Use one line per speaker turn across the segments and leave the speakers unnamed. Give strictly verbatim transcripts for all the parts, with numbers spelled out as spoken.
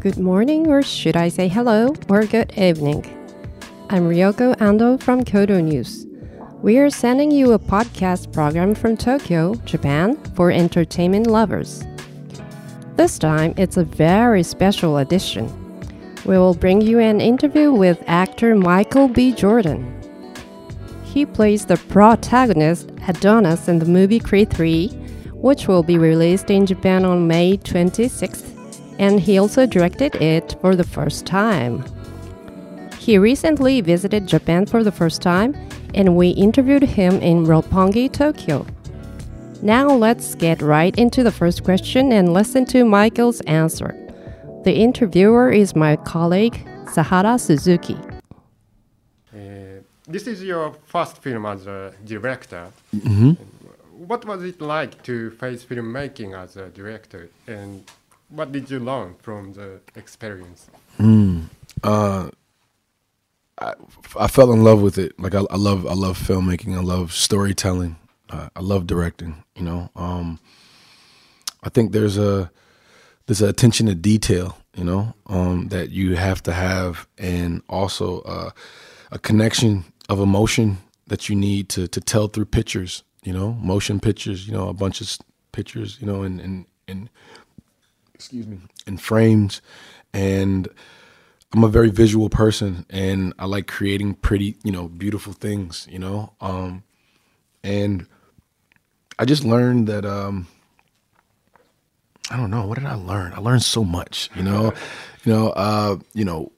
Good morning, or should I say hello, or good evening. I'm Ryoko Ando from Kyoto News. We are sending you a podcast program from Tokyo, Japan, for entertainment lovers. This time, it's a very special edition. We will bring you an interview with actor Michael B. Jordan. He plays the protagonist Adonis in the movie Creed three, which will be released in Japan on May twenty-sixth, and he also directed it for the first time. He recently visited Japan for the first time, and we interviewed him in Roppongi, Tokyo. Now let's get right into the first question and listen to Michael's answer. The interviewer is my colleague, Sahara Suzuki.
Uh, this is your first film as a director.
Mm-hmm.
What was it like to face filmmaking as a director, and what did you learn from the experience?
Mm. Uh, I, I fell in love with it. Like I, I love, I love filmmaking. I love storytelling. Uh, I love directing. You know, um, I think there's a there's an attention to detail. You know, um, that you have to have, and also uh, a connection of emotion that you need to to tell through pictures. You know, motion pictures. You know, a bunch of pictures. You know, and and and. excuse me, in frames. And I'm a very visual person, and I like creating pretty, you know, beautiful things, you know. Um, and I just learned that, um, I don't know, what did I learn? I learned so much, you know, you know, uh, you know,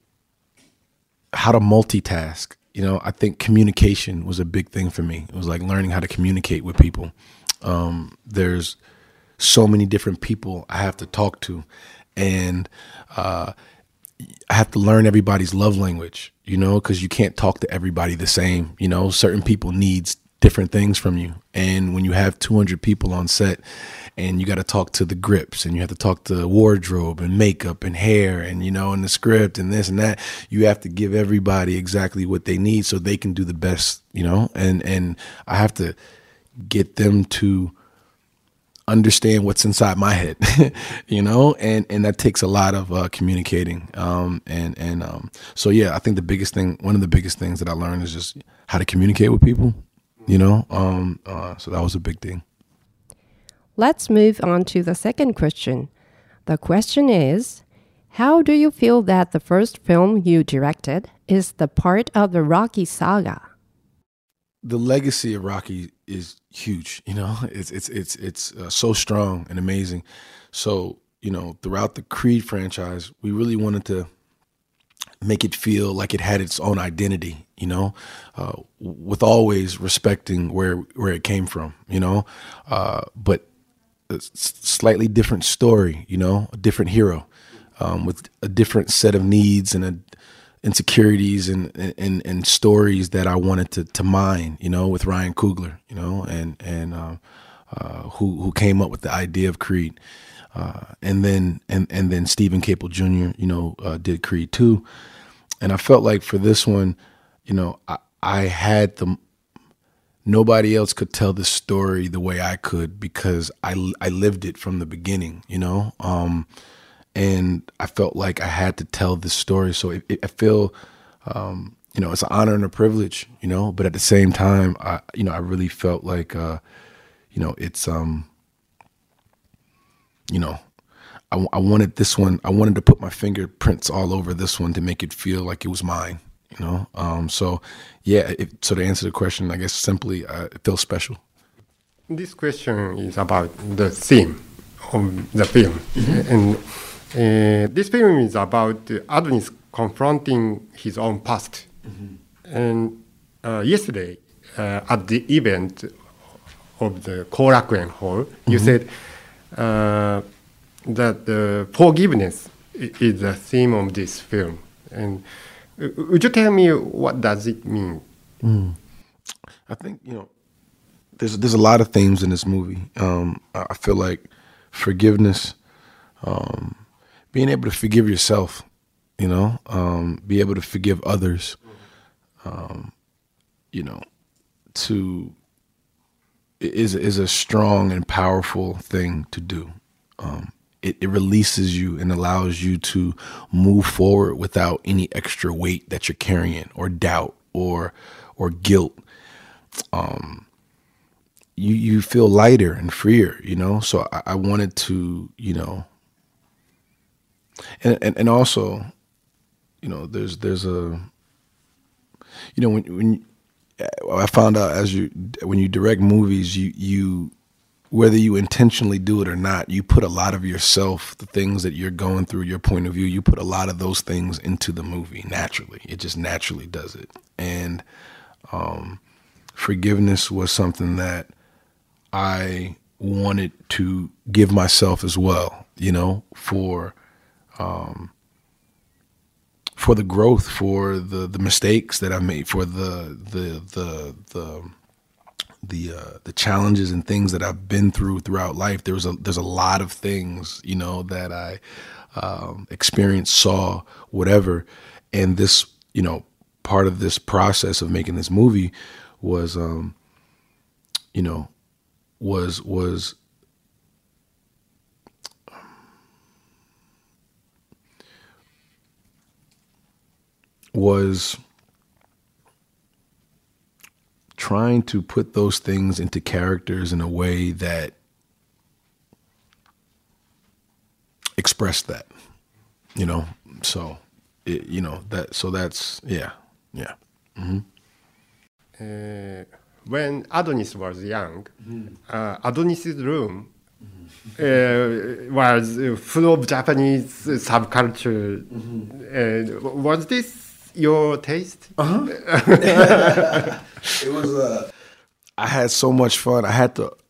how to multitask. You know, I think communication was a big thing for me. It was like learning how to communicate with people. Um, there's so many different people I have to talk to, and uh, I have to learn everybody's love language, you know, because you can't talk to everybody the same. You know, certain people needs different things from you. And when you have two hundred people on set and you got to talk to the grips, and you have to talk to wardrobe and makeup and hair and, you know, and the script and this and that, you have to give everybody exactly what they need so they can do the best, you know, and, and I have to get them to understand what's inside my head, you know, and, and that takes a lot of uh, communicating. Um, and, and um, so, yeah, I think the biggest thing, one of the biggest things that I learned is just how to communicate with people, you know, um, uh, so that was a big thing.
Let's move on to the second question. The question is, how do you feel that the first film you directed is the part of the Rocky saga?
The legacy of Rocky is huge, you know. It's it's it's it's uh, so strong and amazing. So, you know, throughout the Creed franchise, we really wanted to make it feel like it had its own identity, you know, uh, with always respecting where where it came from, you know, uh, but a slightly different story, you know, a different hero um, with a different set of needs and a insecurities and, and, and stories that I wanted to, to mine, you know, with Ryan Coogler, you know, and, and, uh, uh, who, who came up with the idea of Creed. Uh, and then, and, and then Stephen Caple Junior, you know, uh, did Creed two. And I felt like for this one, you know, I, I had the, nobody else could tell the story the way I could, because I, I lived it from the beginning, you know, um, and I felt like I had to tell this story. So it, it, I feel, um, you know, it's an honor and a privilege, you know, but at the same time, I, you know, I really felt like, uh, you know, it's, um, you know, I, I wanted this one, I wanted to put my fingerprints all over this one to make it feel like it was mine, you know? Um, so yeah, it, so to answer the question, I guess simply, uh, it feels special.
This question is about the theme of the film. Mm-hmm. And Uh, this film is about uh, Adonis confronting his own past. Mm-hmm. And uh, yesterday, uh, at the event of the Korakuen Hall, mm-hmm. you said uh, that uh, forgiveness is the theme of this film. And uh, would you tell me what does it mean?
Mm. I think, you know, there's there's a lot of themes in this movie. Um, I feel like forgiveness. Um, Being able to forgive yourself, you know, um, be able to forgive others, um, you know, to is is a strong and powerful thing to do. Um, it, it releases you and allows you to move forward without any extra weight that you're carrying or doubt or or guilt. Um, you you feel lighter and freer, you know. So I, I wanted to, you know, and, and and also, you know, there's there's a, you know, when when I found out as you when you direct movies, you you. whether you intentionally do it or not, you put a lot of yourself, the things that you're going through, your point of view, you put a lot of those things into the movie naturally. It just naturally does it. And um, forgiveness was something that I wanted to give myself as well, you know, for um, for the growth, for the the mistakes that I made, for the the the the the uh, the challenges and things that I've been through throughout life. There was a there's a lot of things, you know, that I um, experienced, saw, whatever. And this, you know, part of this process of making this movie was, um, you know, was was was trying to put those things into characters in a way that expressed that, you know. So, it, you know that. So that's yeah, yeah. Mm-hmm.
Uh, when Adonis was young, mm-hmm. uh, Adonis's room mm-hmm. uh, was full of Japanese subculture. Mm-hmm. Uh, was this your taste?
Uh-huh. It was. Uh, I had so much fun. I had to.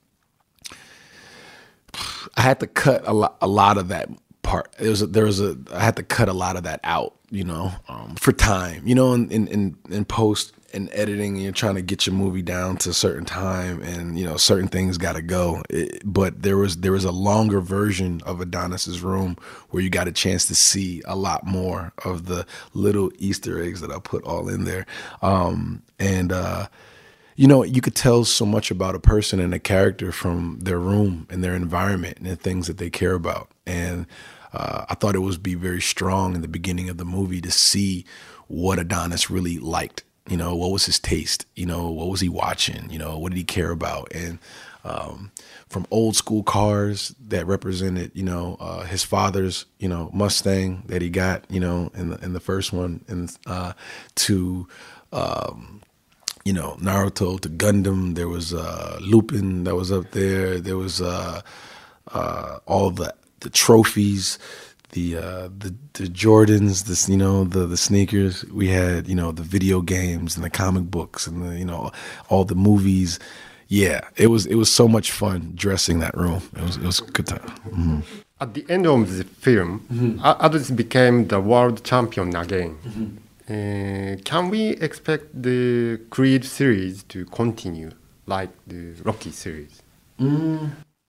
I had to cut a lot. A lot of that part. There was. A, there was a. I had to cut a lot of that out. You know, um, for time. You know, in in in post and editing, you're trying to get your movie down to a certain time, and you know, certain things got to go. It, but there was there was a longer version of Adonis's room where you got a chance to see a lot more of the little Easter eggs that I put all in there. Um, and uh, you know, you could tell so much about a person and a character from their room and their environment and the things that they care about. And uh, I thought it would be very strong in the beginning of the movie to see what Adonis really liked. You know, what was his taste? You know, what was he watching? You know, what did he care about? And um, from old school cars that represented, you know, uh, his father's, you know, Mustang that he got, you know, in the in the first one, and uh, to, um, you know, Naruto, to Gundam. There was uh, Lupin that was up there. There was uh, uh, all the the trophies. The, uh, the the Jordans, this you know the the sneakers. We had you know the video games and the comic books and the you know all the movies. Yeah, it was it was so much fun dressing that room. It was it was a good time. Mm-hmm.
At the end of the film, mm-hmm. Adonis became the world champion again. Mm-hmm. Uh, can we expect the Creed series to continue like the Rocky series?
Mm.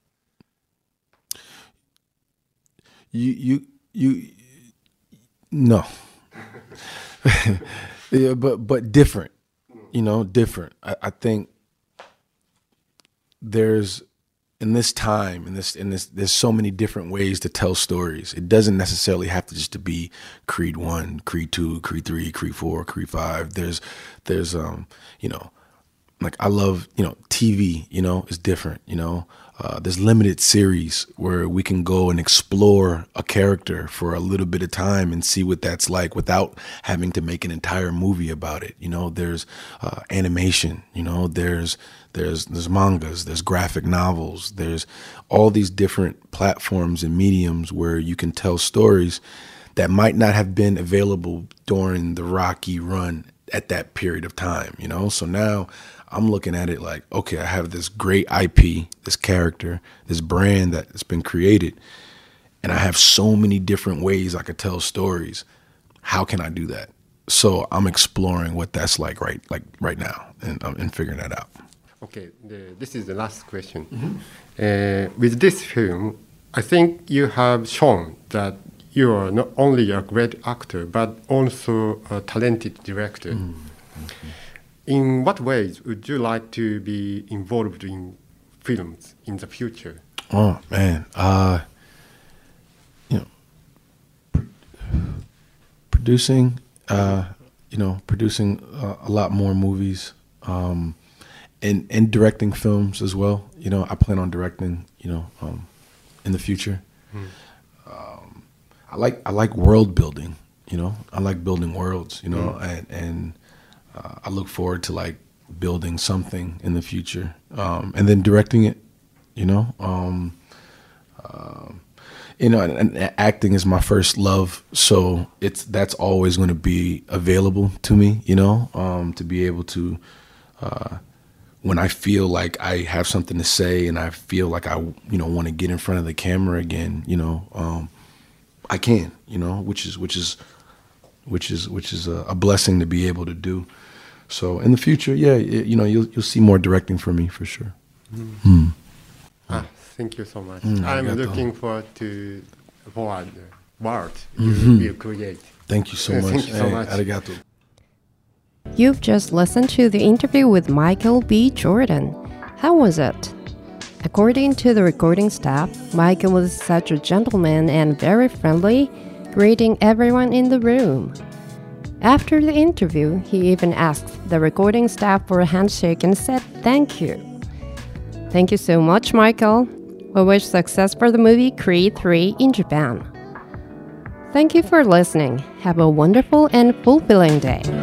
You you you no. Yeah, but but different. You know, different. I, I think there's in this time in this in this there's so many different ways to tell stories. It doesn't necessarily have to just to be Creed one, Creed two, Creed three, Creed four, Creed five. There's there's um, you know, like I love, you know, T V, you know, is different, you know. Uh, there's limited series where we can go and explore a character for a little bit of time and see what that's like without having to make an entire movie about it. You know, there's uh, animation, you know, there's there's there's mangas, there's graphic novels, there's all these different platforms and mediums where you can tell stories that might not have been available during the Rocky run at that period of time, you know. So now I'm looking at it like, okay, I have this great I P, this character, this brand that's been created, and I have so many different ways I could tell stories. How can I do that? So I'm exploring what that's like right, like right now, and um, and figuring that out.
Okay, the, this is the last question. Mm-hmm. Uh, with this film, I think you have shown that you are not only a great actor but also a talented director. Mm-hmm. In what ways would you like to be involved in films in the future?
Oh man, uh, producing, uh, you know, producing uh, a lot more movies, um, and and directing films as well. You know, I plan on directing, you know, um, in the future. Mm. Um, I like I like world building. You know, I like building worlds. You know, mm. and and uh, I look forward to like building something in the future, um, and then directing it. You know. Um, um, You know, and, and acting is my first love, so it's that's always going to be available to me. You know, um, to be able to, uh, when I feel like I have something to say and I feel like I, you know, want to get in front of the camera again. You know, um, I can. You know, which is which is, which is which is a, a blessing to be able to do. So in the future, yeah, it, you know, you'll you'll see more directing from me for sure. Mm. Mm.
Ah. Thank you so much.
Mm,
I'm
arigato.
looking forward to forward the world
Mm-hmm.
you will create.
Thank you so much.
Thank you so
hey,
much.
Arigato.
You've just listened to the interview with Michael B. Jordan. How was it? According to the recording staff, Michael was such a gentleman and very friendly, greeting everyone in the room. After the interview, he even asked the recording staff for a handshake and said thank you. Thank you so much, Michael. We wish success for the movie Creed three in Japan. Thank you for listening. Have a wonderful and fulfilling day.